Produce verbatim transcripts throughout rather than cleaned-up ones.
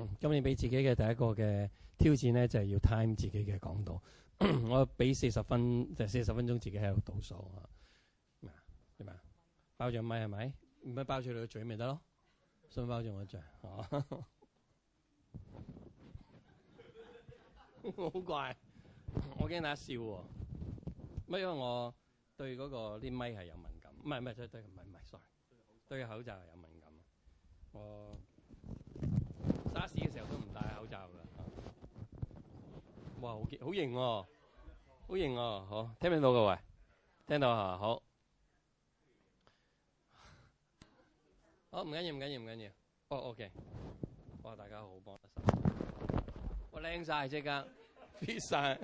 今年俾自己嘅第一個嘅挑戰咧，就係、是、要 time 自己嘅講道。我俾四十分，就四十分鐘自己喺度倒數啊。咩啊？點啊？包住咪係咪？唔係包住你個嘴咪得咯？想包住我嘴？哦，好怪，我驚大家笑喎。乜因為我對嗰個啲咪係有敏感，唔係唔係對對唔係唔係 sorry， 對口罩係有敏感。我沙士嘅時候都唔戴口罩㗎。哇，好好型喎，好型喎，好，聽唔聽到各位？聽到嚇，好，好，唔緊要唔緊要唔緊要，哦 OK，哇大家好幫得手，哇靚曬即刻 fit 曬，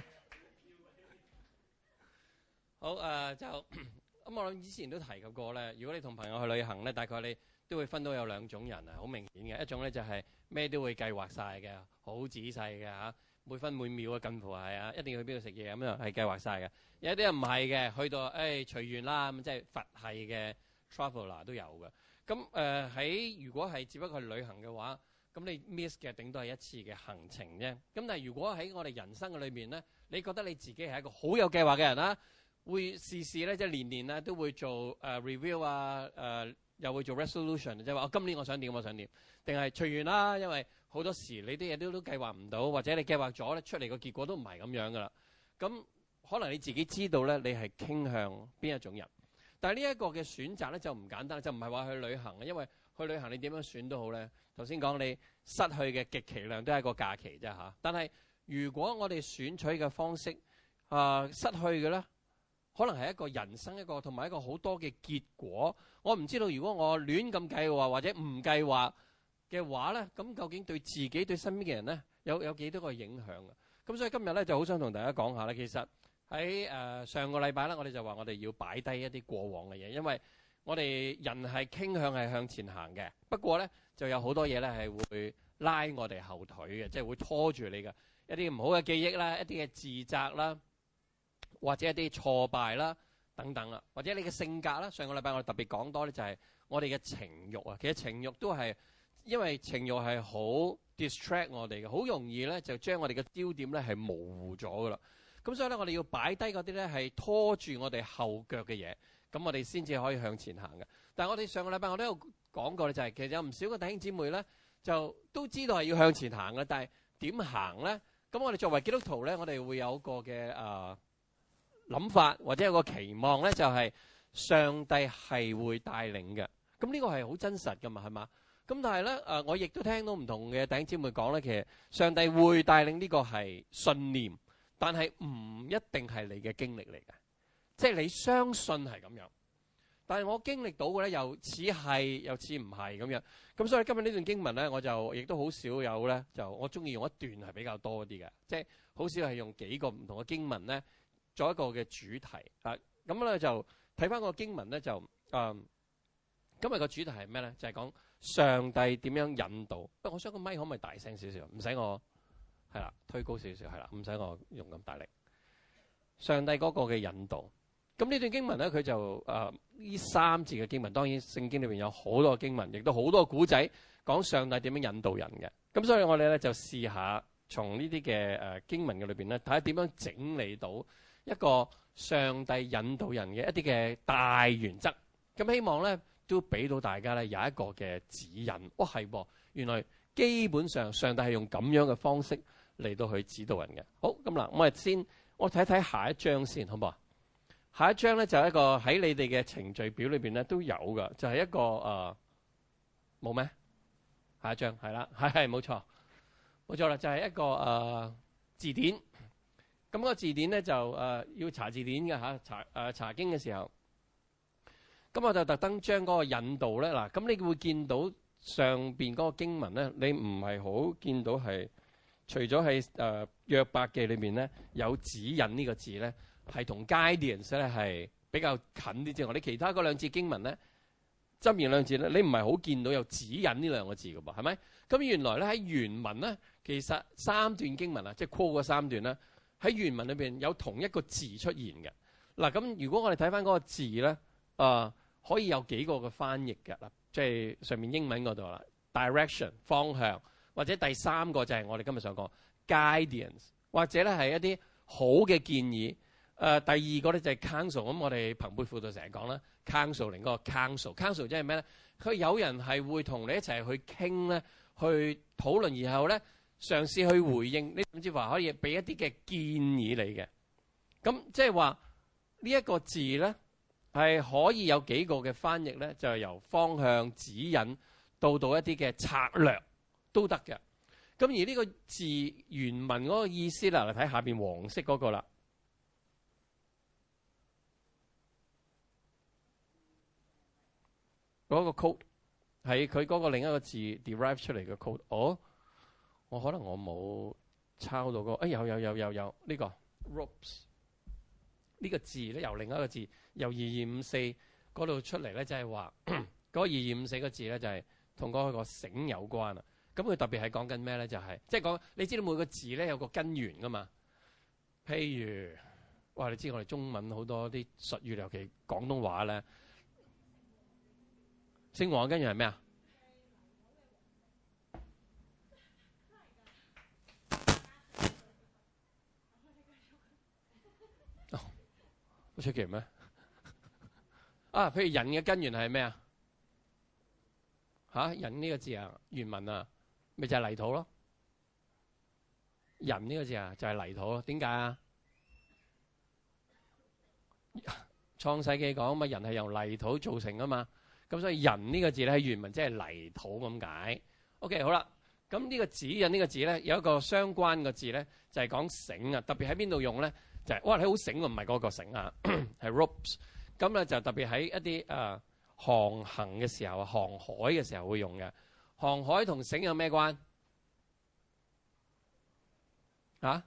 好誒就咁我諗以前都提及過咧，如果你同朋友去旅行咧，大概你都會分到有兩種人啊，好明顯嘅，一種咧就係咩都會計劃曬嘅，好仔細嘅嚇。每分每秒啊，近乎係啊，一定要去邊度食嘢咁樣係計劃晒嘅。有啲人唔係嘅，去到誒隨緣啦，咁即係佛系嘅 traveler 都有嘅。咁誒喺如果係只不過係旅行嘅話，咁你 miss 嘅頂多係一次嘅行程啫。咁但係如果喺我哋人生嘅裏面咧，你覺得你自己係一個好有計劃嘅人啦，會事事咧即係年年咧都會做誒、uh, review 啊，誒、uh, 又會做 resolution，即係話我今年我想點我想點，定係隨緣啦，因為好多時你啲嘢都都計劃唔到，或者你計劃咗咧出嚟個結果都唔係咁樣噶啦。咁可能你自己知道咧，你係傾向邊一種人。但係呢一個嘅選擇咧就唔簡單，就唔係話去旅行，因為去旅行你點樣選都好咧。頭先講你失去嘅極其量都係一個假期啫嚇。但係如果我哋選取嘅方式啊、呃、失去嘅咧，可能係一個人生一個同埋一個好多嘅結果。我唔知道如果我亂咁計劃或者唔計劃嘅話咧，咁究竟對自己對身邊嘅人咧有有幾多個影響啊？咁所以今日咧就好想同大家講下咧，其實喺誒、呃、上個禮拜咧，我哋就話我哋要擺低一啲過往嘅嘢，因為我哋人係傾向係向前行嘅，不過咧就有好多嘢咧係會拉我哋後腿嘅，即係會拖住你嘅一啲唔好嘅記憶啦，一啲嘅自責啦，或者一啲挫敗啦等等啦，或者你嘅性格啦。上個禮拜我哋特別講多咧就係我哋嘅情慾啊，其實情慾都係。因為情慾係好 distract 我哋嘅，好容易咧就將我哋嘅焦點咧係模糊咗噶啦。咁所以咧，我哋要擺低嗰啲咧係拖住我哋後腳嘅嘢，咁我哋先至可以向前行嘅。但係我哋上個禮拜我都有講過咧，就係其實有唔少嘅弟兄姊妹咧就都知道係要向前行嘅，但係點行咧？咁我哋作為基督徒咧，我哋會有個嘅誒諗法或者有個期望咧，就係上帝係會帶領嘅。咁呢個係好真實噶嘛，係嘛？咁但係咧，誒，我亦都聽到唔同嘅弟兄姊妹講咧，其實上帝會帶領呢個係信念，但係唔一定係你嘅經歷嚟嘅，即係你相信係咁樣。但係我經歷到嘅咧，又似係又似唔係咁樣。咁所以今日呢段經文咧，我就亦都好少有咧，就我中意用一段係比較多啲嘅，即係好少係用幾個唔同嘅經文咧做一個嘅主題啊。咁咧就睇翻個經文咧就誒、嗯，今日個主題係咩咧？就係、是、講。上帝點樣引導？不過我想個咪可唔可以大聲少少？唔使我係啦，推高少少係啦，唔使我用咁大力。上帝嗰個嘅引導。咁呢段經文咧，佢就誒呢、呃、三節嘅經文，當然聖經裏邊有好多經文，亦都好多古仔講上帝點樣引導人嘅。咁所以我哋咧就試下從呢啲嘅誒經文嘅裏邊咧，睇下點樣整理到一個上帝引導人嘅一啲嘅大原則。咁希望咧。都俾到大家咧有一個嘅指引，哇係噃，原來基本上上帝係用咁樣嘅方式嚟到去指導人嘅。好，咁嗱，我哋先我睇睇下一章先，好唔好啊？下一章咧就係一個喺你哋嘅程序表裏邊咧都有嘅，就係、是、一個誒冇咩？下一章係啦，係係冇錯，冇錯啦，就係、是、一個誒、呃、字典。咁、那個字典咧就誒、呃、要查字典嘅嚇，查誒、呃、查經嘅時候。咁我就特登將嗰個引導咧，嗱，咁你會見到上邊嗰個經文咧，你唔係好見到係，除咗喺誒約伯記裏邊咧有指引呢個字咧，係同 guidance 咧係比較近啲之外，你其他嗰兩節經文咧，箴言兩字咧，你唔係好見到有指引呢兩個字㗎噃，係咪？咁原來咧喺原文咧，其實三段經文啊，即係 call 嗰三段咧，喺原文裏邊有同一個字出現嘅。嗱，咁如果我哋睇翻嗰個字咧，啊、呃。可以有幾個嘅翻譯嘅啦，即係上面英文嗰度啦 ，direction 方向或者第三個就係我哋今日想講 guidance， 或者咧係一啲好嘅建議。誒、呃，第二個咧就係 counsel。咁我哋朋輩輔導成日講啦 counseling 嗰個 counsel，counsel 即係咩咧？佢有人係會同你一齊去傾咧，去討論，然後咧嘗試去回應，你甚至話可以俾一啲嘅建議你嘅。咁即係話呢一個字咧係可以有幾個嘅翻譯咧，就係由方向指引到到一啲嘅策略都得嘅。咁而呢個字原文嗰個意思啦，嚟睇下邊黃色嗰個啦，嗰個 code 係佢嗰個另一個字 derive 出嚟嘅 code。哦，我可能我冇抄到嗰個，哎有有有有有呢個 ropes 呢個字咧，由另一個字由二二五四嗰度出嚟咧，就係話嗰個二二五四個字咧就係同嗰個繩有關啊。咁佢特別係講緊咩咧？就係即係講你知道每個字咧有個根源噶嘛。譬如哇，你知我哋中文好多啲術語，尤其廣東話咧，姓黃嘅根源係咩啊？哦，好出奇咩？啊，譬如人嘅根源係咩啊？嚇，人呢個字啊，原文啊。咪就係泥土咯，人呢個字啊就係泥土咯。點解啊？創世記講嘛，人係由泥土造成噶嘛，咁所以人呢個字咧喺原文即係泥土咁解。OK， 好啦，咁呢個指引呢個字咧有一個相關嘅字咧就係講繩啊，特別喺邊度用咧就係、是、哇你好繩喎，唔係嗰個繩啊，係 ropes。咁咧就特別喺一啲誒、呃、航行嘅時候、航海嘅時候會用嘅。航海同繩有咩關？啊？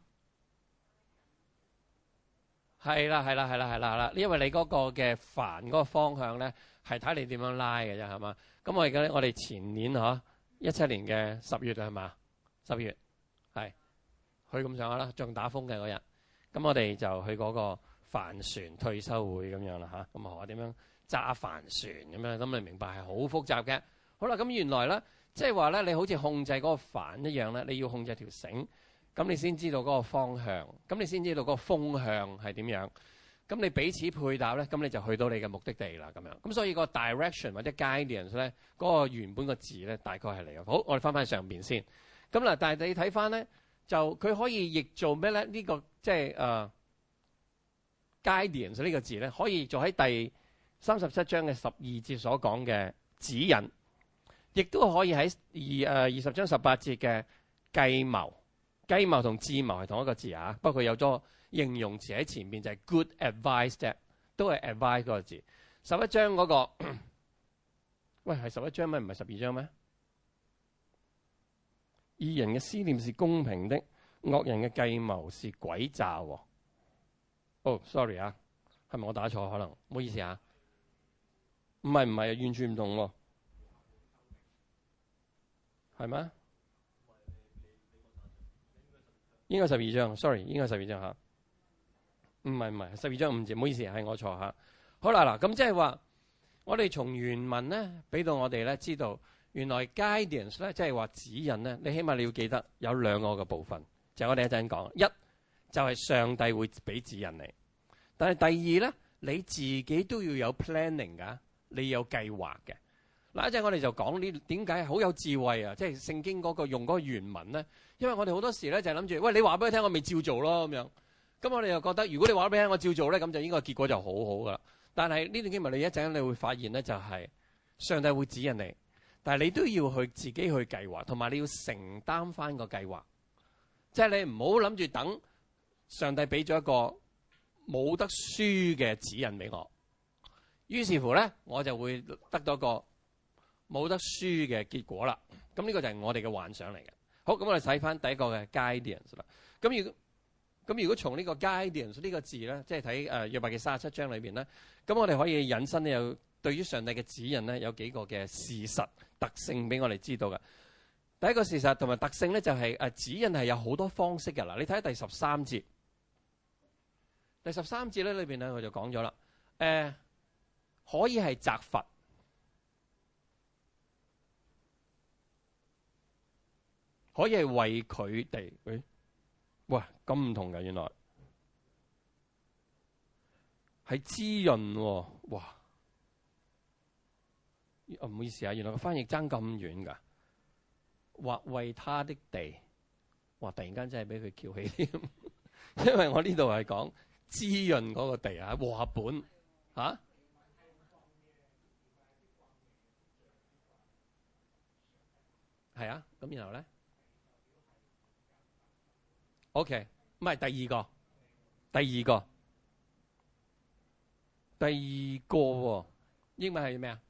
係啦，係啦，係啦，係啦，係啦。因為你嗰個嘅帆嗰個方向咧，係睇你點樣拉嘅啫，係嘛？咁我而家我哋前年嗬一七年嘅十月係嘛？十月係去咁上下啦，仲打風嘅嗰日。咁我哋就去嗰個帆船退休會咁樣啦嚇。咁啊學下點樣揸帆船咁樣。咁你明白係好複雜嘅。好啦，咁原來咧。即係話咧，你好似控制嗰個帆一樣咧，你要控制條繩，咁你先知道嗰個方向，咁你先知道嗰個風向係點樣，咁你彼此配搭咧，咁你就去到你嘅目的地啦，咁樣。咁所以個 direction 或者 guidance 咧，嗰個原本個字咧，大概係嚟嘅。好，我哋翻返上邊先。咁嗱，但係你睇翻咧，就佢可以譯做咩咧？呢個即係誒 guidance 呢個字咧，可以做喺第三十七章嘅十二節所講嘅指引。亦都可以喺二誒二十章十八節嘅計謀，計謀同智謀係同一個字啊，不過有咗形容詞喺前面，就係、是、good advice 啫，都係 advice 嗰個字。十一章嗰、那個，喂係十一章咩？唔係十二章咩？義人嘅思念是公平的，惡人嘅計謀是詭詐。哦、oh，sorry 啊，係咪我打錯？可能唔好意思啊，唔係唔係，完全唔同喎。係咩？應該十二章 ，sorry， 應該十二章嚇。唔係唔係，十二章五節，唔好意思，係我錯嚇。好啦嗱，咁即係話，我哋從原文咧，俾到我哋咧知道，原來 guidance 咧，即係話指引咧，你起碼你要記得有兩個嘅部分，就係、我哋一陣講。一就係、是、上帝會俾指引你，但係第二咧，你自己都要有 planning 㗎，你有計劃嘅。嗱，一陣我哋就講呢點解好有智慧啊！即係聖經嗰個用嗰個原文咧，因為我哋好多時咧就係諗住，喂，你話俾佢聽，我咪照做咯咁樣。咁我哋又覺得，如果你話俾佢聽，我照做咧，咁就應該結果就好好噶啦。但係呢段經文你一陣你會發現咧，就係上帝會指引你，但係你都要去自己去計劃，同埋你要承擔翻個計劃。即係你唔好諗住等上帝俾咗一個冇得輸嘅指引俾我，於是乎咧我就會得到個冇得輸嘅結果啦，咁呢個就係我哋嘅幻想嚟嘅。好，咁我哋睇翻第一個嘅 guidance 啦。咁如果咁如果從呢個 guidance 呢個字咧，即係睇誒約伯記三十七章裏邊咧，咁我哋可以引申咧有對於上帝嘅指引咧有幾個嘅事實特性俾我哋知道嘅。第一個事實同埋特性咧就係誒指引係有好多方式嘅啦。你睇下第十三節，第十三節咧裏邊咧我就講咗啦，誒、呃、可以係責罰。 可以係為佢哋。誒，哇，咁唔同嘅，原來係滋潤喎。哇，唔好意思啊，原來個翻譯爭咁遠㗎。或為他的地，哇！突然間真係俾佢翹起添，因為我呢度係講滋潤嗰個地啊，和合本嚇。係啊，咁然後咧 ，OK，唔係第二個，第二個，第二個喎，英文係咩啊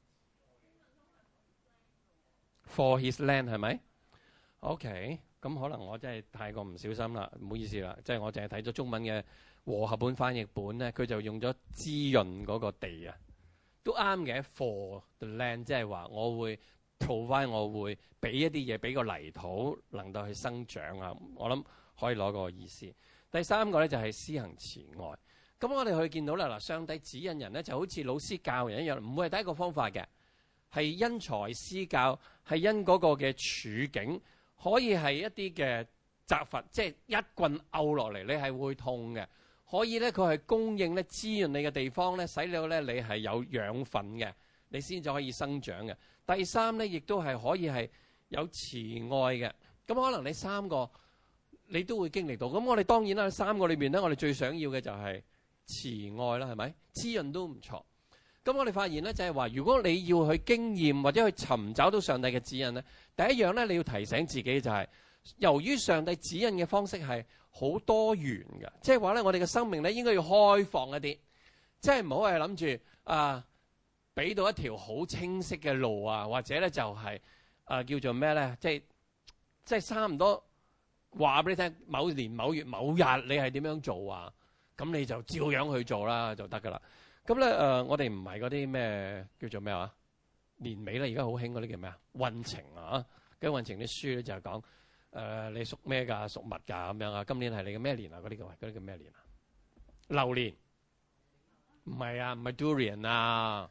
？For his land 係咪 ？OK，咁可能我真係太過唔小心啦，唔好意思啦，即係我淨係睇咗中文嘅和合本翻譯本咧，佢就用咗滋潤嗰個地啊，都啱嘅。For the land 即係話我會。provide 我會俾一啲嘢俾個泥土能夠去生長啊，我諗可以攞個意思。第三個咧就係施行慈愛。咁我哋去見到啦，嗱，上帝指引人咧就好似老師教人一樣，唔會係第一個方法嘅，係因材施教，係因嗰個嘅處境，可以係一啲嘅責罰，即係一棍拗落嚟，你係會痛嘅。可以咧，佢係供應咧滋潤你嘅地方咧，使到咧你係有養分嘅，你先至可以生長嘅。第三咧，亦都係可以係有慈愛嘅。咁可能你三個你都會經歷到。咁我哋當然啦，三個裏邊咧，我哋最想要嘅就係慈愛啦，係咪？滋潤都唔錯。咁我哋發現咧，就係話，如果你要去經驗或者去尋找到上帝嘅指引咧，第一樣咧，你要提醒自己就係，由於上帝指引嘅方式係好多元嘅，即係話咧，我哋嘅生命咧應該要開放一啲，即係唔好係諗住啊。俾到一條好清晰嘅路啊，或者咧就係、是、誒、呃、叫做咩咧？即係即係差唔多話俾你聽，某年某月某日你係點樣做啊？咁你就照樣去做啦，就得噶啦。咁咧誒，我哋唔係嗰啲咩叫做咩話？年尾咧，而家好興嗰啲叫咩啊？運程啊，跟運程啲書咧就係講誒你屬咩㗎？屬物㗎咁樣啊？今年係你嘅咩年啊？嗰啲叫嗰啲叫咩年啊？流年唔係啊，唔係 Durian 啊。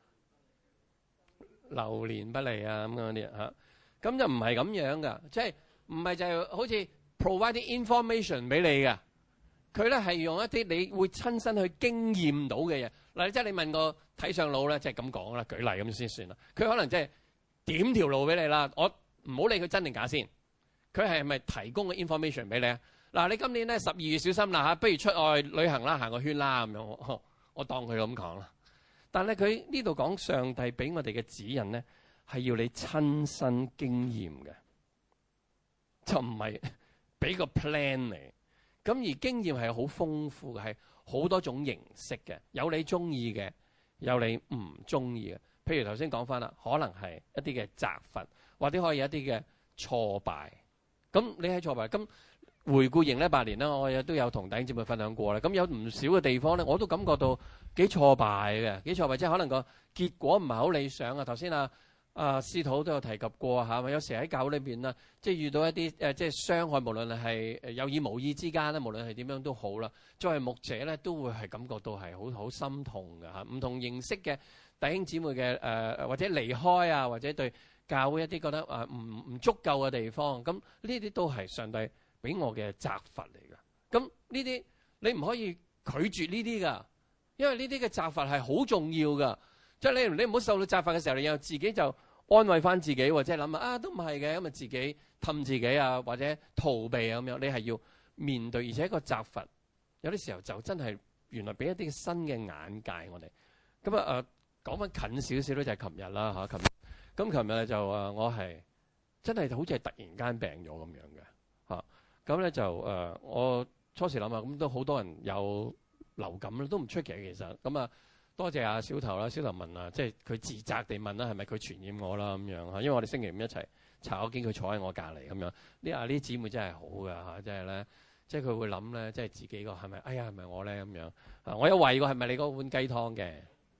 流年不利啊咁樣啲嚇，咁就唔係咁樣噶，即係唔係就係好似 provide 啲 information 俾你嘅，佢咧係用一啲你會親身去經驗到嘅嘢。嗱，即係你問個睇相佬咧，即係咁講啦，舉例咁先算啦。佢可能即係點條路俾你啦，我唔好理佢真定假先。佢係咪提供個 information 俾你啊？嗱，你今年咧十二月小心啦嚇，不如出外旅行啦，行個圈啦咁樣，我，我當佢咁講啦。但係佢呢度講上帝俾我哋嘅指引咧，係要你親身經驗嘅，就唔係俾個 plan 嚟。咁而經驗係好豐富嘅，係好多種形式嘅，有你中意嘅，有你唔中意嘅。譬如頭先講翻啦，可能係一啲嘅責罰，或者可以一啲嘅挫敗。咁你喺挫敗，咁回顧二零一八年啦，我亦都有同弟兄姊妹分享過啦。咁有唔少嘅地方咧，我都感覺到幾挫敗嘅，幾挫敗，即係可能個結果唔係好理想啊。頭先啊啊司徒都有提及過嚇，有時喺教會裏邊啦，即係遇到一啲誒即係傷害，無論係有意無意之間咧，無論係點樣都好啦。作為牧者咧，都會係感覺到係好好心痛嘅嚇。唔同形式嘅弟兄姊妹嘅誒、呃、或者離開啊，或者對教會一啲覺得誒唔唔足夠嘅地方，咁呢啲都係上帝俾我嘅責罰嚟㗎。咁呢啲你唔可以拒絕呢啲㗎，因為呢啲嘅責罰係好重要㗎。即係你你唔好受到責罰嘅時候，你又自己就安慰翻自己，或者諗啊都唔係嘅，咁啊自己氹自己啊，或者逃避啊咁樣。你係要面對，而且個責罰有啲時候就真係原來俾一啲新嘅眼界我哋。咁啊誒講翻近少少咧，就係琴日啦嚇，琴日咁琴日就誒我係真係好似係突然間病咗咁樣嘅嚇。咁咧就誒我初時諗下，咁都好多人有流感啦，都唔出奇其實。咁啊多謝阿小頭啦，小頭問啊，即係佢自責地問啦，係咪佢傳染我啦咁樣嚇？因為我哋星期五一齊查，我見佢坐喺我隔離咁樣。呢啊呢啲姊妹真係好㗎嚇，即係咧，即係佢會諗咧，即係自己個係咪？哎呀係咪我咧咁樣？啊我有懷疑過係咪你嗰碗雞湯嘅？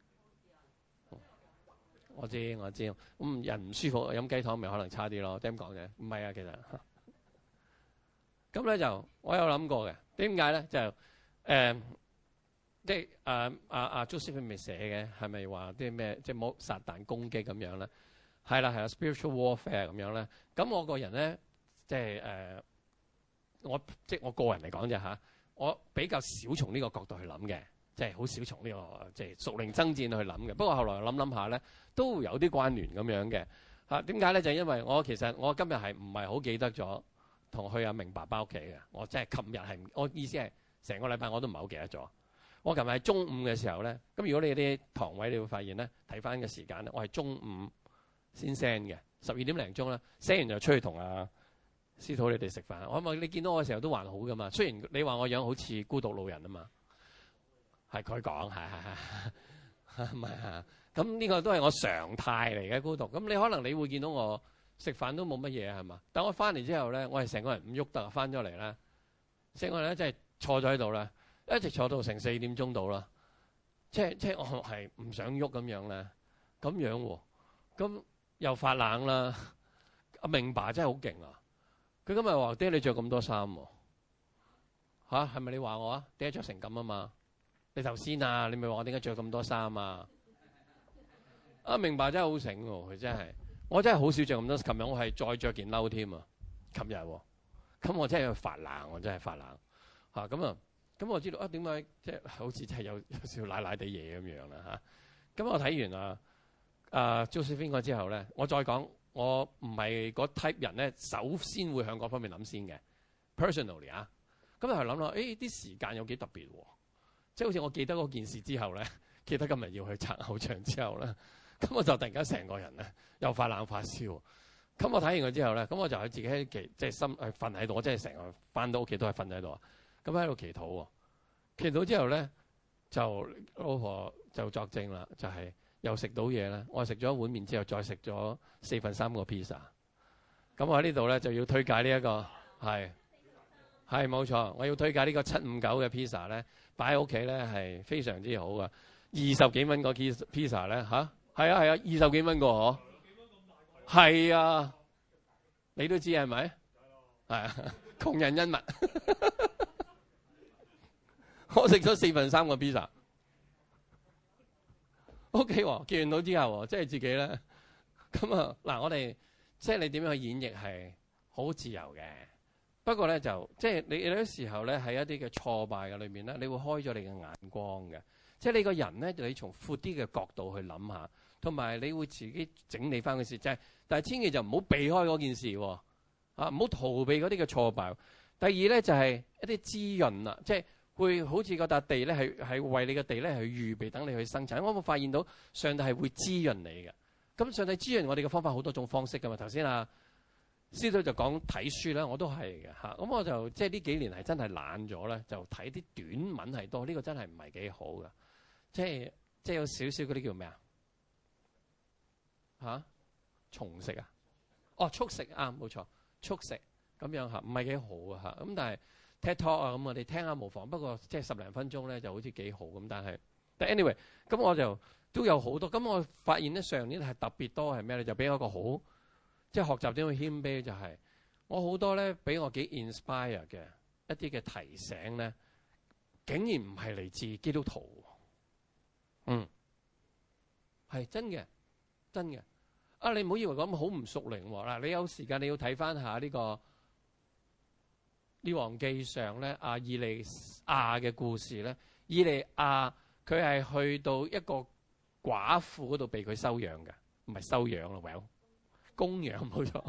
我知我知，咁人唔舒服飲雞湯咪可能差啲咯，點講嘅？唔係啊，其實咁咧就我有諗過嘅，點解咧就誒？呃即係誒阿阿 Joseph 咪寫嘅，係咪話啲咩即係冇撒旦攻擊咁樣咧？係啦係啦 ，spiritual warfare 咁樣咧。咁我個人咧即係誒，我即係我個人嚟講啫嚇，我比較少從呢個角度去諗嘅，即係好少從呢個即係屬靈爭戰去諗嘅。不過後來諗諗下咧，都有啲關聯咁樣嘅嚇。點解咧？就係因為我其實我今日係唔係好記得咗同去阿明爸爸屋企嘅。我即係琴日係，我意思係成個禮拜我都唔係好記得咗。我琴日係中午嘅時候咧，咁如果你啲堂位你會發現咧，睇翻嘅時間咧，我係中午先 send 嘅，十二點零鐘啦，send 完就出去同阿司徒你哋食飯。我諗你見到我嘅時候都還好噶嘛，雖然你話我樣好似孤獨老人啊嘛，係佢講，係係係，唔係啊？咁呢個都係我常態嚟嘅孤獨。咁你可能你會見到我食飯都冇乜嘢係嘛？但我翻嚟之後咧，我係成個人唔喐得，翻咗嚟咧，成個人咧真係坐咗喺度咧。一直坐到成四點鐘到啦，即係即係我係唔想喐咁樣咧，咁樣喎，咁又發冷啦。阿明爸真係好勁啊！佢今日話：爹你着咁多衫喎，嚇係咪你話我啊？爹着成咁啊嘛？你頭先啊，你咪話我點解着咁多衫啊？阿明爸真係好醒喎，佢真係，我真係好少着咁多。琴日我係再着件褸添啊，琴日喎，咁我真係發冷，我真係發冷嚇咁啊！咁我知道啊，點解即係好似真係有有少奶奶地嘢咁樣啦嚇？咁我睇完啊啊 Josephine 嗰之後咧，我再講，我唔係嗰 type 人咧，首先會向嗰方面諗先嘅 personally 啊。咁就係諗啦，誒啲時間有幾特別喎？即係好似我記得嗰件事之後咧，記得今日要去拆偶像之後咧，咁我就突然間成個人咧又發冷發燒。咁我睇完佢之後咧，咁我就喺自己喺其即係心誒瞓喺度，我真係成個翻到屋企都係瞓喺度啊。咁喺度祈禱喎，祈禱之後咧，就老婆就作證啦，就係、是、又食到嘢啦。我食咗一碗麵之後，再食咗四分三個 pizza。咁我喺呢度咧就要推介呢、這、一個係係冇錯，我要推介呢個七五九嘅 pizza 咧，擺喺屋企咧係非常之好噶。二十幾蚊個 pizza 咧吓？係啊係啊，二十幾蚊個嗬，係啊，你都知係咪？係啊，窮人恩物。我食咗四分三個 pizza，O K 喎，見到之後，即係自己咧，咁啊嗱，我哋即係你點樣去演繹係好自由嘅。不過咧就即係你有啲時候咧喺一啲嘅挫敗嘅裏面咧，你會開咗你嘅眼光嘅。即係你個人咧，你從闊啲嘅角度去諗下，同埋你會自己整理翻個事。即係但係千祈就唔好避開嗰件事喎，啊唔好逃避嗰啲嘅挫敗。第二咧就係一啲滋潤啦，即係。會好似嗰笪地咧，係係為你嘅地咧係預備等你去生產。我有冇發現到上帝係會滋潤你嘅？咁上帝滋潤我哋嘅方法好多種方式噶嘛。頭先啊，司徒就講睇書啦，我都係嘅嚇。咁我就即係呢幾年係真係懶咗咧，就睇啲短文係多。呢、這個真係唔係幾好噶，即係即係有少少嗰啲叫咩啊？嚇，重食啊？哦，速食啊，冇錯，速食咁樣嚇，唔係幾好啊嚇。咁但係。talk 啊，咁我哋聽下無妨。不過即係十零分鐘咧，就好似幾好咁。但係，但 anyway，咁我就都有好多。咁我發現咧，上年係特別多係咩咧？就俾我一個好即係學習點去謙卑，就係、是、我好多咧俾我幾 inspire 嘅一啲嘅提醒咧，竟然唔係嚟自基督徒。嗯，係真嘅，真嘅。啊，你唔好以為咁好唔屬靈喎。嗱，你有時間你要睇翻下呢個。列王記上咧，阿以利亞嘅故事咧，以利亞佢係去到一個寡婦嗰度被佢收養嘅，唔係收養咯，well，供養冇錯，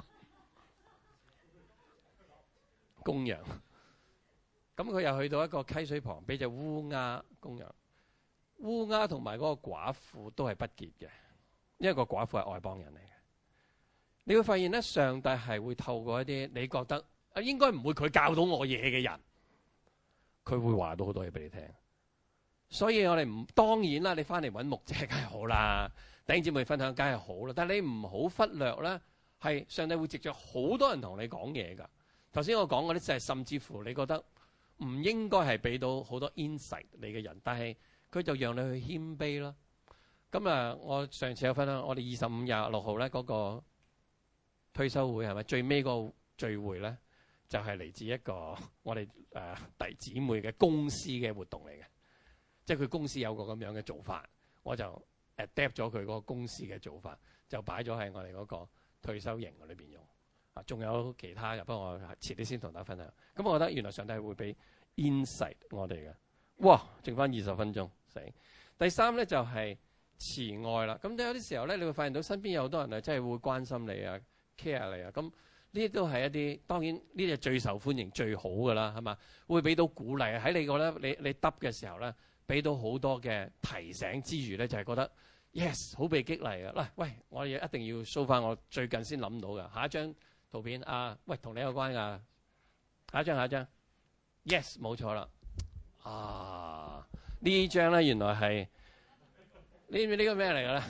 供養。咁佢又去到一個溪水旁，俾隻烏鴉供養。烏鴉同埋嗰個寡婦都係不潔嘅，因為個寡婦係外邦人嚟嘅。你會發現咧，上帝係會透過一啲你覺得。啊，應該唔會佢教到我嘢嘅人，佢會話到好多嘢俾你聽。所以我哋唔當然啦，你翻嚟揾牧者梗係好啦，弟兄姊妹分享梗係好啦。但係你唔好忽略咧，係上帝會藉著好多人同你講嘢㗎。頭先我講嗰啲就係甚至乎你覺得唔應該係俾到好多 insight 你嘅人，但係佢就讓你去謙卑啦。咁啊，我上次有分享，我哋二十五廿六號咧嗰個退休會係咪最尾個聚會咧？就係、是、嚟自一個我哋誒弟姊妹嘅公司嘅活動嚟嘅，即係佢公司有個咁樣嘅做法，我就 adapt 咗佢嗰個公司嘅做法，就擺咗喺我哋嗰個退休營裏邊用。 啊，仲有其他嘅，不過我遲啲先同大家分享。咁我覺得原來上帝會俾 insight 我哋嘅。哇，剩翻二十分鐘死。第三咧就係、是、慈愛啦。咁有啲時候咧，你會發現到身邊有好多人啊，真係會關心你啊 care 你啊。咁呢啲都係一啲，當然呢啲係最受歡迎最好㗎啦，係嘛？會俾到鼓勵喺你個咧，你你得嘅時候咧，俾到好多嘅提醒之餘咧，就係、是、覺得 yes 好被激勵啊！嗱，喂，我哋一定要 show 翻我最近先諗到嘅下一張圖片啊！喂，同你有關㗎，下一張下一張 yes 冇錯啦。啊，呢張咧原來係呢呢個咩嚟嘅咧？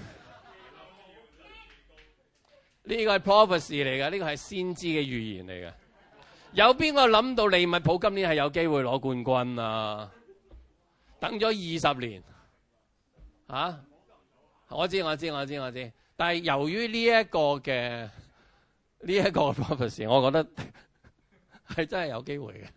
呢個係 prophecy 嚟嘅，呢個係先知嘅預言嚟嘅。有邊個諗到利物浦今年係有機會攞冠軍啊？等咗二十年，啊！我知我知我知我知，但係由於呢一個嘅呢一個 prophecy，我覺得係真係有機會嘅。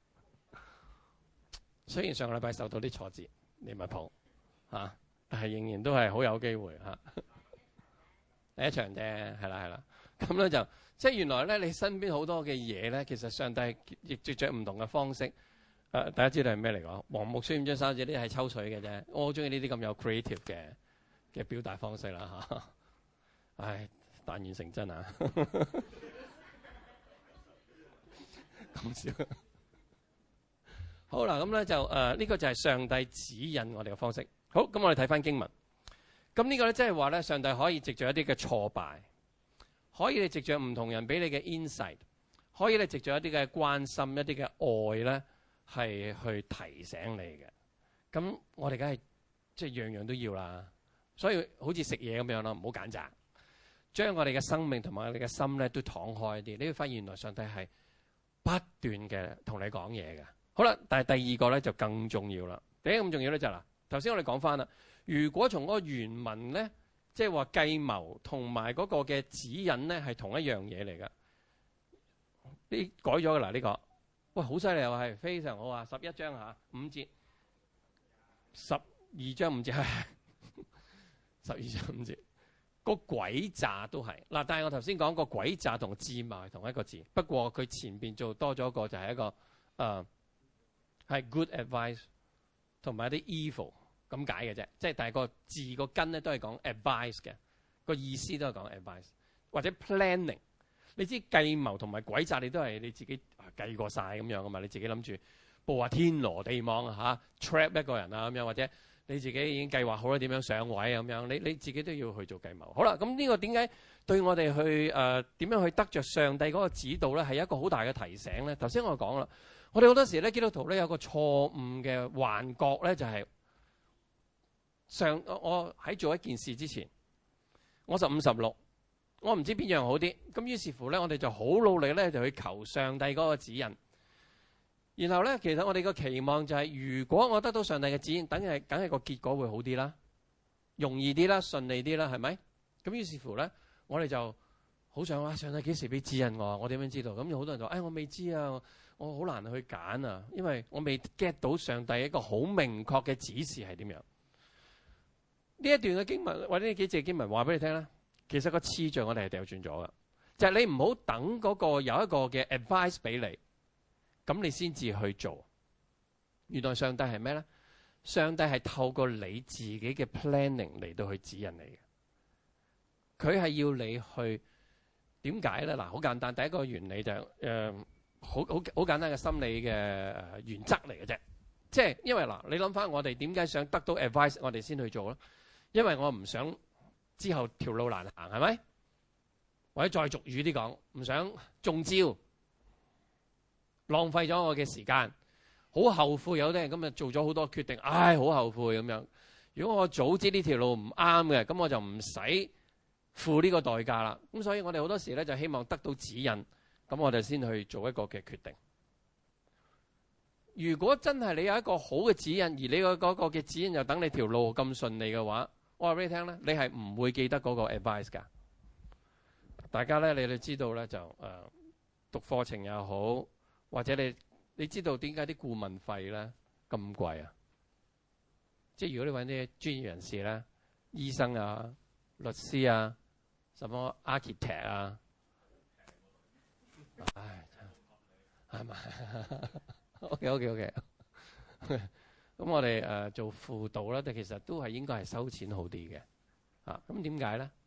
雖然上個禮拜受到啲挫折，利物浦嚇，但係仍然都係好有機會嚇。第一場啫，係啦係啦。咁咧就即係原來咧，你身邊好多嘅嘢咧，其實上帝亦藉著唔同嘅方式。誒、呃，大家知道係咩嚟講？黃木書五章三節呢啲係抽水嘅啫。我好中意呢啲咁有 creative 嘅嘅表達方式啦嚇。唉，但願成真啊！咁笑。好啦，咁咧就誒呢、呃這個就係上帝指引我哋嘅方式。好，咁我哋睇翻經文。咁呢個咧即係話咧，上帝可以藉著一啲嘅挫敗，可以你藉著唔同人俾你嘅 insight，可以你藉著一啲嘅關心、一啲嘅愛咧，係去提醒你嘅。咁我哋梗係即係樣樣都要啦。所以好似食嘢咁樣咯，唔好揀擇，將我哋嘅生命同埋我哋嘅心咧都敞開啲。你會發現原來上帝係不斷嘅同你講嘢嘅。好啦，但係第二個咧就更重要啦。第一個咁重要咧就係嗱，頭先我哋講翻啦。如果從嗰個原文咧，即係話計謀同埋嗰個嘅指引咧係同一樣嘢嚟㗎。你改咗㗎啦呢個，喂好犀利啊，係非常好啊！十一章嚇五節，十二章五節係十二章五節，個詭詐都係嗱。但係我頭先講個詭詐同智謀係同一個字，不過佢前邊做多咗一個就係一個誒。呃係 good advice 同埋一啲 evil 咁解嘅啫，即係但係個字個根咧都係講 advice 嘅，個意思都係講 advice 或者 planning。你知計謀同埋詭詐，你都係你自己計過晒咁樣噶嘛？你自己諗住佈下天羅地網啊嚇 trap 一個人啊咁樣，或者你自己已經計劃好咗點樣上位咁樣，你你自己都要去做計謀。好啦，咁呢個點解對我哋去誒點樣去得着上帝嗰個指導咧，係一個好大嘅提醒咧？頭先我講啦。我哋好多時咧，基督徒咧有個錯誤嘅幻覺咧，就係上我喺做一件事之前，我十五十六，我唔知邊樣好啲。咁於是乎咧，我哋就好努力咧，就去求上帝嗰個指引。然後咧，其實我哋個期望就係，如果我得到上帝嘅指引，等係梗係個結果會好啲啦，容易啲啦，順利啲啦，係咪？咁於是乎咧，我哋就好想話上帝幾時俾指引我？我點樣知道？咁有好多人就話：哎，我未知啊。我好難去揀啊，因為我未 get 到上帝一個好明確嘅指示係點樣。呢一段嘅經文或者呢幾節經文話俾你聽咧，其實個次序我哋係掉轉咗嘅，就係、是、你唔好等嗰個有一個嘅 advice 俾你，咁你先至去做。原來上帝係咩咧？上帝係透過你自己嘅 planning 嚟到去指引你嘅。佢係要你去點解咧？嗱，好簡單，第一個原理就係、是、誒。呃好好好簡單嘅心理嘅原則嚟嘅啫，即係因為嗱，你諗翻我哋點解想得到 advice， 我哋先去做咯。因為我唔想之後條路難行，係咪？或者再俗語啲講，唔想中招，浪費咗我嘅時間，好後悔。有啲人今日做咗好多決定，唉，好後悔咁樣。如果我早知呢條路唔啱嘅，咁我就唔使付呢個代價啦。咁所以我哋好多時咧就希望得到指引。咁我哋先去做一個嘅決定。如果真係你有一個好嘅指引，而你個嗰個嘅指引又等你條路咁順利嘅話，我話俾你聽咧，你係唔會記得嗰個 advice 㗎。大家咧，你哋知道咧就誒、呃、讀課程又好，或者你你知道點解啲顧問費咧咁貴啊？即係如果你揾啲專業人士咧，醫生啊、律師啊、什麼 architect 啊。 唉，係咪？OK OK OK。咁我哋誒、呃、做輔導咧，但其實都係應該係收錢好啲嘅。啊，咁點解咧？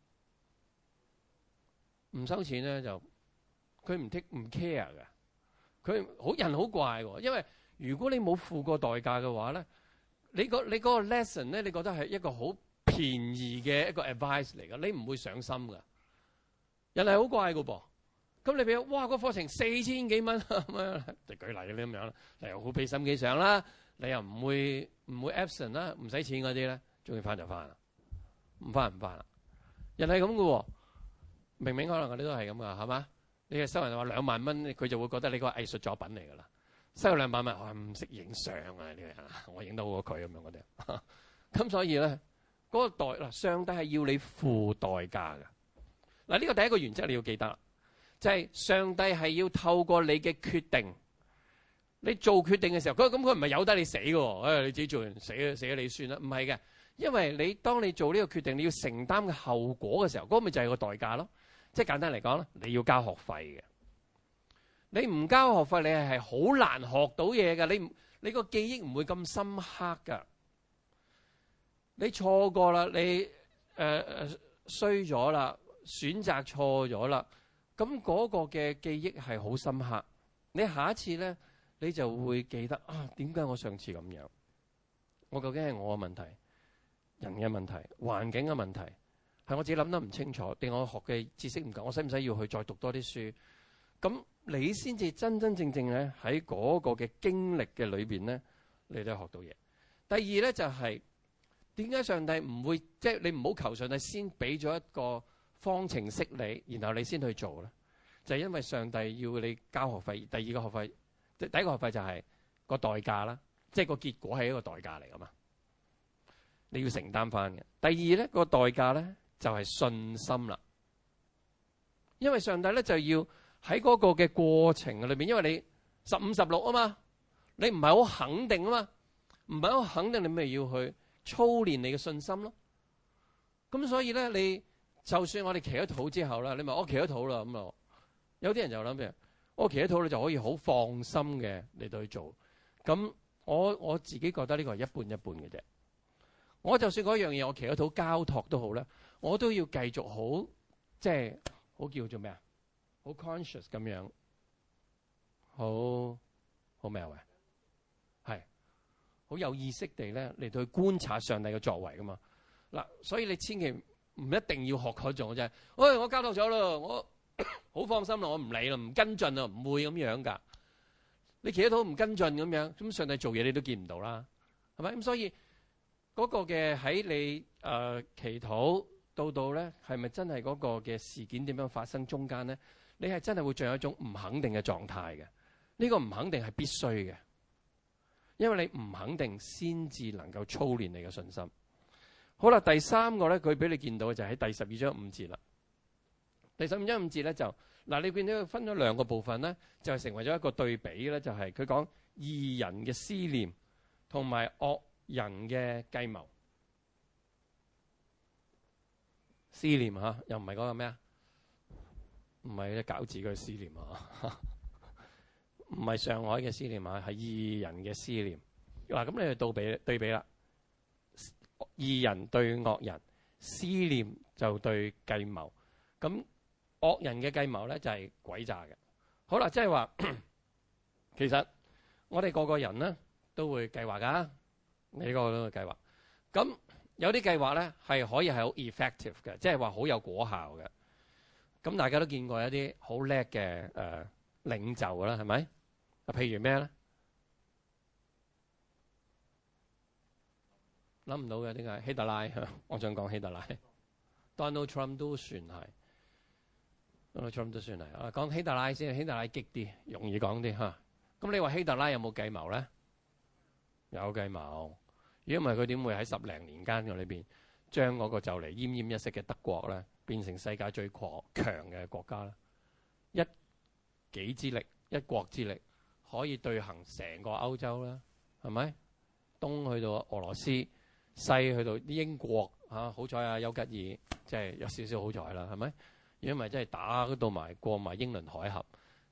唔收錢咧就佢唔 take 唔 care 嘅。佢好人好怪喎，因為如果你冇付過代價嘅話咧，你個你嗰個 lesson 咧，你覺得係一個好便宜嘅一個 advice 嚟㗎，你唔會上心㗎。人係好怪㗎噃。咁你俾哇個課程四千幾蚊咁樣，就舉例嗰啲咁樣啦，你又好俾心機上啦，你又唔會唔會 absent 啦，唔使錢嗰啲咧，中意翻就翻啦，唔翻唔翻啦。人係咁嘅喎，明明可能我哋都係咁噶，係嘛？你係收人話兩萬蚊，佢就會覺得你個藝術作品嚟㗎啦。收兩萬蚊，我唔識影相啊！呢個人，我影得好過佢咁樣嗰啲。咁所以咧，嗰個代嗱，上帝係要你付代價㗎。嗱，呢個第一個原則你要記得。就係上帝係要透過你嘅決定，你做決定嘅時候，佢咁佢唔係由得你死嘅，誒、哎、你自己做完死咗死咗你算啦，唔係嘅，因為你當你做呢個決定，你要承擔嘅後果嘅時候，嗰、那個咪就係個代價咯。即係簡單嚟講咧，你要交學費嘅，你唔交學費，你係係好難學到嘢嘅，你你個記憶唔會咁深刻㗎。你錯過啦，你誒誒衰咗啦，選擇錯咗啦。咁嗰個嘅記憶係好深刻，你下一次咧，你就會記得啊，點解我上次咁樣？我究竟係我嘅問題、人嘅問題、環境嘅問題，係我自己諗得唔清楚，定我學嘅知識唔夠？我使唔使要去再讀多啲書？咁你先至真真正正咧喺嗰個嘅經歷嘅裏邊咧，你都學到嘢。第二咧就係點解上帝唔會即係你唔好求上帝先俾咗一個方程式你，然後你先去做咧，就係因為上帝要你交學費。第二個學費，第一個學費就係個代價啦，即係個結果係一個代價嚟噶嘛，你要承擔翻嘅。第二咧個代價咧就係信心啦，因為上帝咧就要喺嗰個嘅過程裏邊，因為你十五十六啊嘛，你唔係好肯定啊嘛，唔係好肯定，你咪要去操練你嘅信心咯。咁所以咧你。就算我哋祈咗禱之後啦，你咪我祈咗禱啦咁啊，有啲人就諗住我祈咗禱你就可以好放心嘅嚟到去做。咁我我自己覺得呢個係一半一半嘅啫。我就算嗰樣嘢我祈咗禱交託都好咧，我都要繼續好即係好叫做咩啊？好 conscious 咁樣，好好咩啊？喂，係好有意識地咧嚟到去觀察上帝嘅作為噶嘛。嗱，所以你千祈。唔一定要學嗰種啫。喂，我交託咗咯，我好放心啦，我唔理啦，唔跟進啦，唔會咁樣噶。你祈禱唔跟進咁樣，咁上帝做嘢你都見唔到啦，係咪？咁所以嗰個嘅喺你誒、呃、祈禱到到咧，係咪真係嗰個嘅事件點樣發生中間咧？你係真係會進入一種唔肯定嘅狀態嘅。呢個唔肯定係必須嘅，因為你唔肯定先至能夠操練你嘅信心。好啦，第三個咧，佢俾你見到嘅就係喺第十二章五節啦。第十二章五節咧就嗱，你見到佢分咗兩個部分咧，就係成為咗一個對比咧，就係佢講義人嘅思念同埋惡人嘅計謀。思念嚇，又唔係嗰個咩啊？唔係啲餃子嘅思念啊，唔係上海嘅思念啊，係義人嘅思念。嗱，咁你就對比對比啦。義人對惡人，思念就對計謀。咁惡人嘅計謀咧就係詭詐嘅。好啦，即係話，其實我哋個個人咧都會計劃噶，你個個都會計劃。咁有啲計劃咧係可以係好 effective 嘅，即係話好有果效嘅。咁大家都見過一啲好叻嘅誒領袖啦，係咪？啊，譬如咩咧？諗唔到嘅，點解希特拉？我想講希特拉，Donald Trump 都算係，Donald Trump 都算係。啊，講希特拉先，希特拉激啲，容易講啲嚇。咁你話希特拉有冇計謀咧？有計謀。如果唔係，佢點會喺十零年間嘅裏邊，將嗰個就嚟奄奄一息嘅德國咧，變成世界最強嘅國家咧？一己之力，一國之力，可以對行成個歐洲啦，係咪？東去到俄羅斯。西去到英國嚇，好彩啊，丘吉爾即係有少少好彩啦，係咪？如果唔係真係打到埋過埋英倫海峽，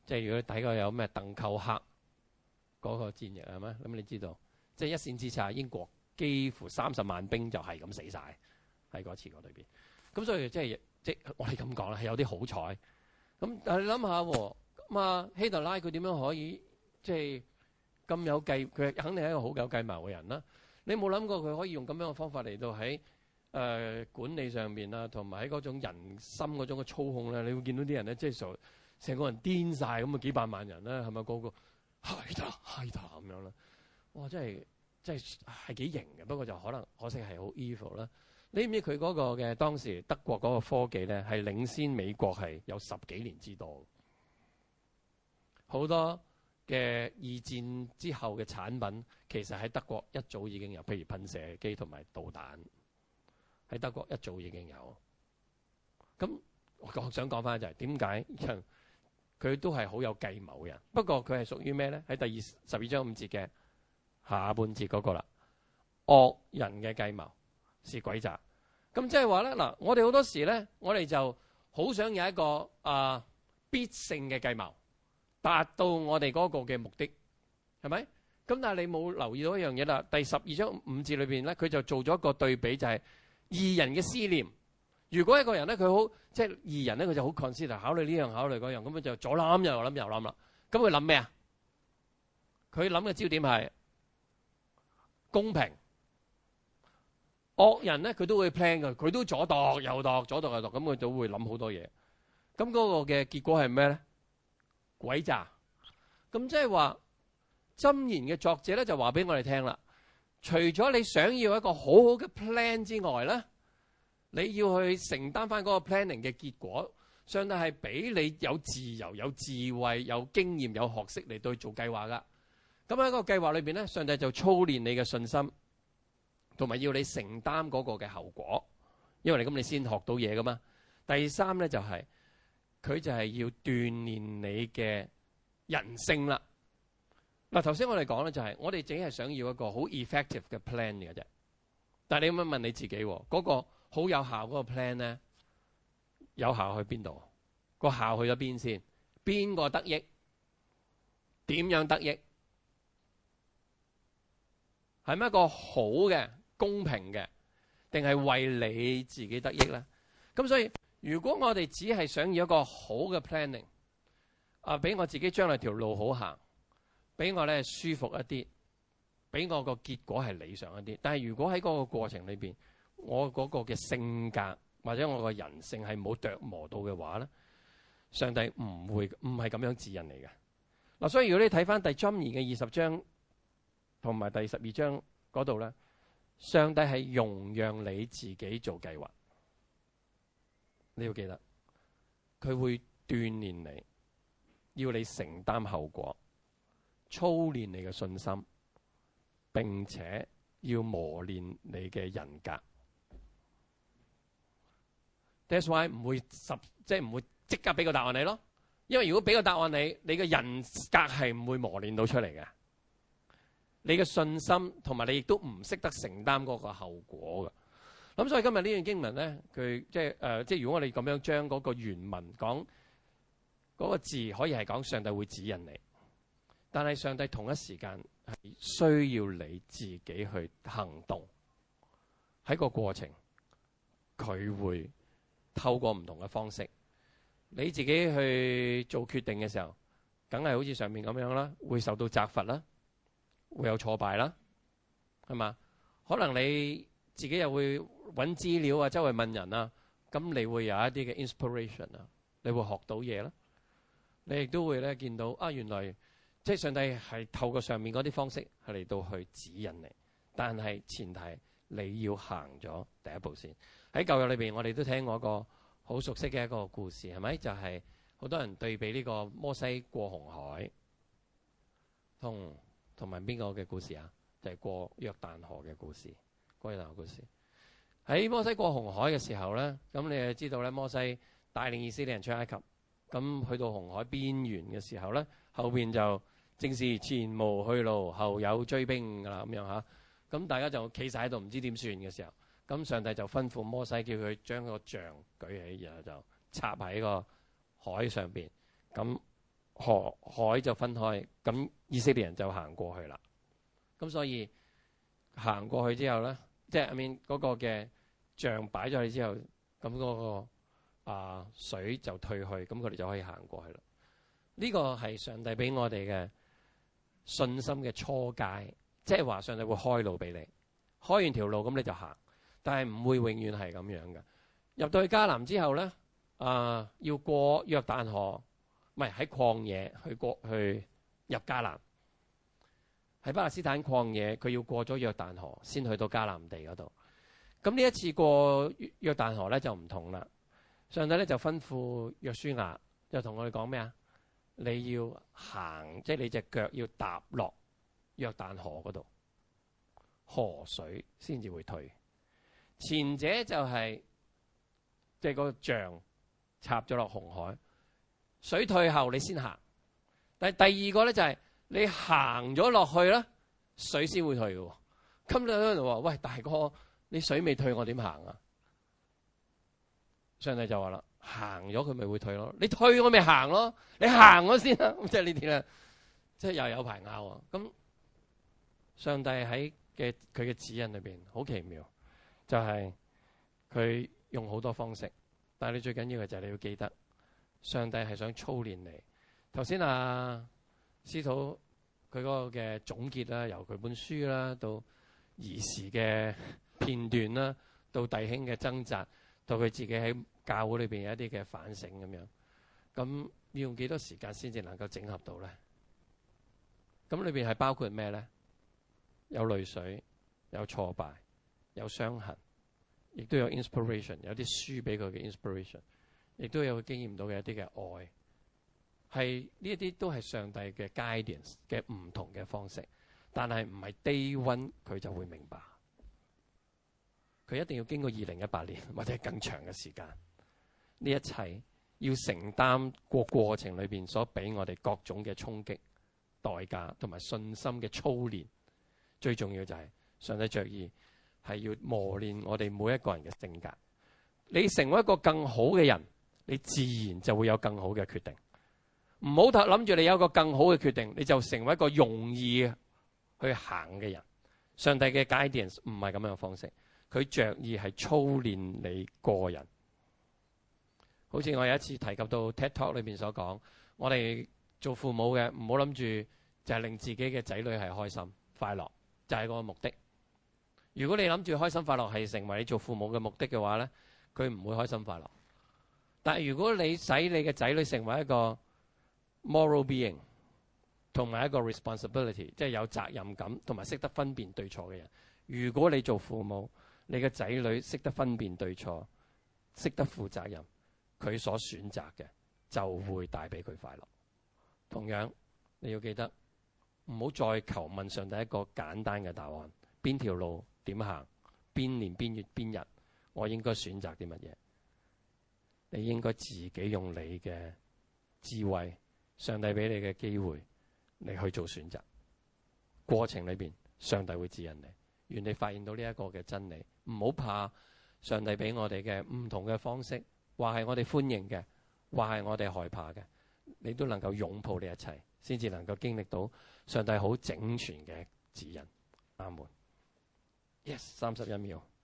即係如果你睇過有咩鄧寇克嗰個戰役係咩？咁你知道，即係一線之差，英國幾乎三十萬兵就係咁死晒喺嗰次嗰裏邊。咁所以即係即係我哋咁講啦，係有啲好彩。咁但係你諗下喎，咁啊希特拉佢點樣可以即係咁有計？佢肯定係一個好有計謀嘅人啦。你冇諗過佢可以用咁樣嘅方法嚟到喺誒、呃、管理上面啊，同埋喺嗰種人心嗰種嘅操控咧，你會見到啲人咧，即係成成個人癲晒咁啊，幾百萬人咧，係咪個個係得係得咁樣啦？哇！真係真係係幾型嘅，不過就可能可惜係好 evil 啦。你知唔知佢嗰個嘅當時德國嗰個科技咧，係領先美國係有十幾年之多，好多嘅二戰之後嘅產品，其實喺德國一早已經有，譬如噴射機同埋導彈，喺德國一早已經有。咁我想講翻就係點解佢都係好有計謀嘅人，不過佢係屬於咩咧？喺第二十二章五節嘅下半節嗰個啦，惡人嘅計謀是詭詐。咁即係話咧，嗱，我哋好多時咧，我哋就好想有一個啊、呃、必勝嘅計謀，達到我哋嗰個嘅目的，係咪？咁但係你冇留意到一樣嘢啦。第十二章五節裏邊咧，佢就做咗一個對比，就係義人嘅思念。如果一個人咧，佢好即係義人咧，佢就好 consider 考慮呢樣考慮嗰樣，咁佢就左諗右諗右諗啦。咁佢諗咩啊？佢諗嘅焦點係公平。惡人咧，佢都會 plan 嘅，佢都左度右度，左度右度，咁佢就會諗好多嘢。咁嗰個嘅結果係咩咧？詭詐。咁即係話箴言嘅作者咧，就話俾我哋聽啦。除咗你想要一個好好嘅 plan 之外咧，你要去承擔翻嗰個 planning 嘅結果，上帝係俾你有自由、有智慧、有經驗、有學識嚟對做計劃噶。咁喺個計劃裏邊咧，上帝就操練你嘅信心。同埋要你承擔嗰個嘅後果，因為你咁你先學到嘢噶嘛。第三咧就係、是、佢就係要鍛鍊你嘅人性啦。嗱，頭先我哋講咧就係、是、我哋淨係想要一個好 effective 嘅 plan 嘅啫。但係你有冇問你自己嗰、那個好有效嗰個 plan 咧？有效去邊度？個效去咗邊先？邊個得益？點樣得益？係咪一個好嘅？公平嘅，定係為你自己得益咧？咁所以，如果我哋只係想要一個好嘅 planning， 啊，俾我自己將來條路好行，俾我咧舒服一啲，俾我個結果係理想一啲。但係如果喺嗰個過程裏邊，我嗰個嘅性格或者我個人性係冇琢磨到嘅話咧，上帝唔會唔係咁樣指引你嘅。嗱，所以如果你睇翻第箴言嘅二十章同埋第十二章嗰度咧。上帝係容讓你自己做計劃，你要記得，佢會鍛鍊你，要你承擔後果，操練你嘅信心，並且要磨練你嘅人格。That's why 唔會十即係唔會即刻俾個答案你咯，因為如果俾個答案你，你嘅人格係唔會磨練到出嚟嘅。你嘅信心同埋你亦都唔識得承擔嗰個後果嘅。咁所以今日呢段經文咧，佢即係誒，即係如果我哋咁樣將嗰個原文講嗰個字，可以係講上帝會指引你，但係上帝同一時間係需要你自己去行動。喺個過程，佢會透過唔同嘅方式，你自己去做決定嘅時候，梗係好似上面咁樣啦，會受到責罰啦。會有挫敗啦，係嘛？可能你自己又會揾資料啊，周圍問人啊，咁你會有一啲嘅 inspiration 啊，你會學到嘢啦。你亦都會咧見到啊，原來即係上帝係透過上面嗰啲方式係嚟到去指引你，但係前提你要行咗第一步先。喺舊約裏邊，我哋都聽過一個好熟悉嘅一個故事，係咪？就係、是、好多人對比呢個摩西過紅海同。同埋邊個嘅故事啊？就係、是、過約旦河嘅故事。過約旦河故事喺摩西過紅海嘅時候咧，咁你就知道咧，摩西帶領以色列人出埃及，咁去到紅海邊緣嘅時候咧，後邊就正是前無去路，後有追兵噶啦咁樣嚇。咁大家就企晒喺度，唔知點算嘅時候，咁上帝就吩咐摩西叫佢將個杖舉起，然後就插喺個海上邊，咁河海就分開，咁以色列人就行過去啦。咁所以行過去之後咧，即係 I mean 嗰個嘅杖擺咗去之後，咁嗰個啊水就退去，咁佢哋就可以行過去啦。呢個係上帝俾我哋嘅信心嘅初階，即係話上帝會開路俾你，開完條路咁你就行，但係唔會永遠係咁樣嘅。入到去迦南之後咧，啊要過約旦河，唔係喺曠野去過去入迦南，喺巴勒斯坦曠野，佢要過咗約旦河先去到迦南地嗰度。咁呢一次過約旦河咧就唔同啦，上帝咧就吩咐約書亞，就同我哋講咩啊？你要行，即係你隻腳要踏落約旦河嗰度，河水先至會退。前者就係即係個杖插咗落紅海，水退後你先行。但係第二個咧就係你行咗落去啦，水先會退嘅。咁你喺度話：喂，大哥，你水未退，我點行啊？上帝就話啦。行咗佢咪會退咯，你退我咪行咯，你行咗先啦。即係呢啲咧，即係又有排拗啊。咁上帝喺嘅佢嘅指引裏邊好奇妙，就係佢用好多方式，但係你最緊要嘅就係你要記得，上帝係想操練你。頭先啊，司徒佢嗰個嘅總結啦，由佢本書啦，到兒時嘅片段啦，到弟兄嘅掙扎，到佢自己喺教會裏邊有一啲嘅反省咁樣，咁要用幾多時間先至能夠整合到咧？咁裏邊係包括咩咧？有淚水，有挫敗，有傷痕，亦都有 inspiration， 有啲書俾佢嘅 inspiration， 亦都有佢經驗到嘅一啲嘅愛，係呢一啲都係上帝嘅 guidance 嘅唔同嘅方式，但係唔係 day one 佢就會明白，佢一定要經過二零一八年或者更長嘅時間。呢一切要承擔過過程裏邊所俾我哋各種嘅衝擊、代價同埋信心嘅操練，最重要就係上帝着意係要磨練我哋每一個人嘅性格。你成為一個更好嘅人，你自然就會有更好嘅決定。唔好諗住你有一個更好嘅決定，你就成為一個容易去行嘅人。上帝嘅 guidance 唔係咁樣嘅方式，佢着意係操練你個人。好似我有一次提及到 TED Talk 裏邊所講，我哋做父母嘅唔好諗住就係令自己嘅仔女係開心快樂，就係個目的。如果你諗住開心快樂係成為你做父母嘅目的嘅話咧，佢唔會開心快樂。但係如果你使你嘅仔女成為一個 moral being 同埋一個 responsibility， 即係有責任感同埋識得分辨對錯嘅人，如果你做父母，你嘅仔女識得分辨對錯，識得負責任，佢所選擇嘅就會帶俾佢快樂。同樣你要記得，唔好再求問上帝一個簡單嘅答案，邊條路點行，邊年邊月邊日我應該選擇啲乜嘢。你應該自己用你嘅智慧，上帝俾你嘅機會，你去做選擇。過程裏邊上帝會指引你，願你發現到呢一個嘅真理。唔好怕上帝俾我哋嘅唔同嘅方式，話係我哋歡迎嘅，話係我哋害怕嘅，你都能夠擁抱呢一切，先至能夠經歷到上帝好整全嘅指引。阿門。Yes， 三十一秒。